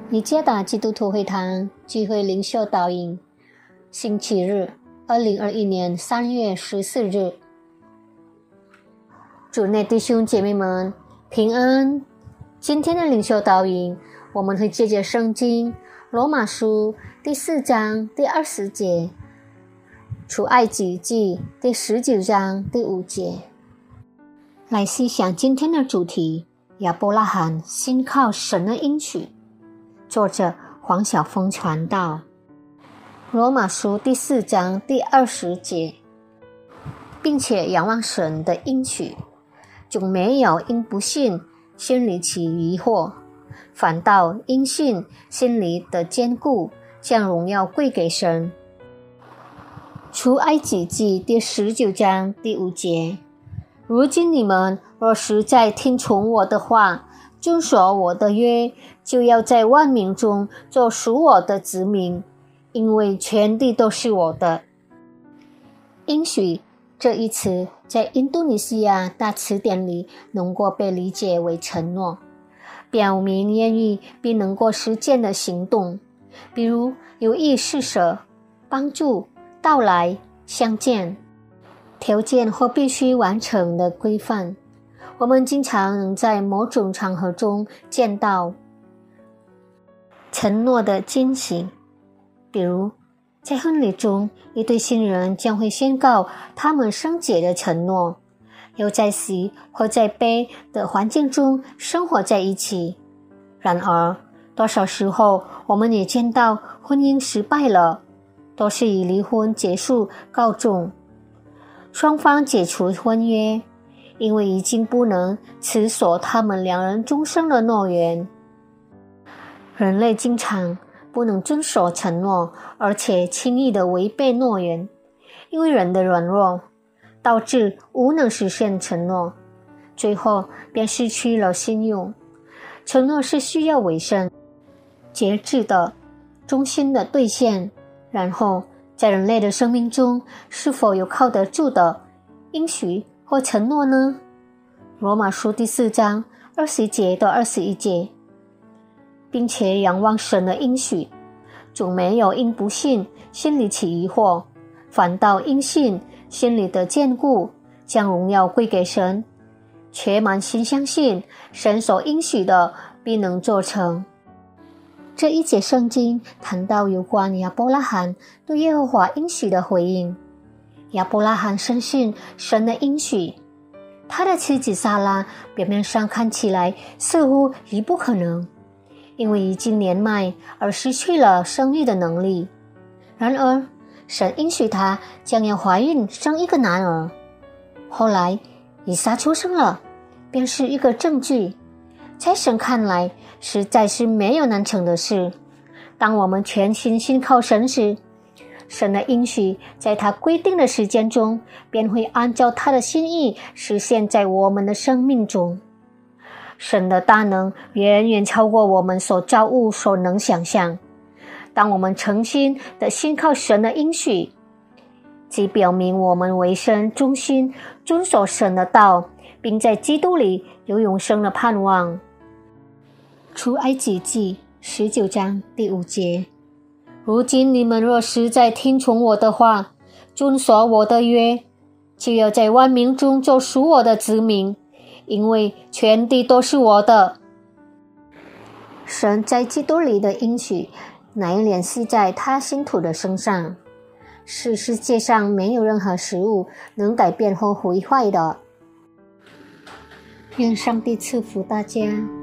尼加达基督徒会堂聚会灵修导引，星期日，2021年3月14日。主内弟兄姐妹们平安。今天的灵修导引，我们会借着圣经罗马书第4章第20节，出埃及记第19章第5节，来细想今天的主题：亚伯拉罕信靠神的应许。作者黄晓峰传道。罗马书第4章第20节，并且仰望神的应许，就没有因不信心里起疑惑，反倒因信心里的坚固，将荣耀归给神。出埃及记第19章第5节，如今你们若实在听从我的话，遵守我的约，就要在万民中做属我的子民，因为全地都是我的。应许这一词在印度尼西亚大词典里能够被理解为承诺，表明言语并能够实践的行动，比如有意施舍、帮助、到来、相见，条件或必须完成的规范。我们经常能在某种场合中见到承诺的进行，比如在婚礼中，一对新人将会宣告他们圣洁的承诺，又在喜或在悲的环境中生活在一起。然而，多少时候我们也见到婚姻失败了，都是以离婚结束告终，双方解除婚约，因为已经不能持守他们两人终生的诺言。人类经常不能遵守承诺，而且轻易地违背诺言，因为人的软弱导致无能实现承诺，最后便失去了信用。承诺是需要委身、节制的、忠心的兑现。然后在人类的生命中，是否有靠得住的应许或承诺呢？罗马书第4章20节到21节，并且仰望神的应许，就没有因不信心里起疑惑，反倒因信心里的坚固，将荣耀归给神，且满心相信神所应许的必能做成。这一节圣经谈到有关亚伯拉罕对耶和华应许的回应。亚伯拉罕深信神的应许，他的妻子撒拉表面上看起来似乎已不可能，因为已经年迈而失去了生育的能力。然而神应许她将要怀孕生一个男儿。后来以撒出生了，便是一个证据，在神看来实在是没有难成的事。当我们全心信靠神时，神的应许在他规定的时间中，便会按照他的心意实现在我们的生命中。神的大能远远超过我们所造物所能想象。当我们诚心的信靠神的应许，即表明我们委身忠心，遵守神的道，并在基督里有永生的盼望。出埃及记19章第5节，如今你们若实在听从我的话，遵守我的约，就要在万民中做属我的子民，因为全地都是我的。神在基督里的应许乃联系在他信徒的身上，是世界上没有任何事物能改变或毁坏的。愿上帝赐福大家。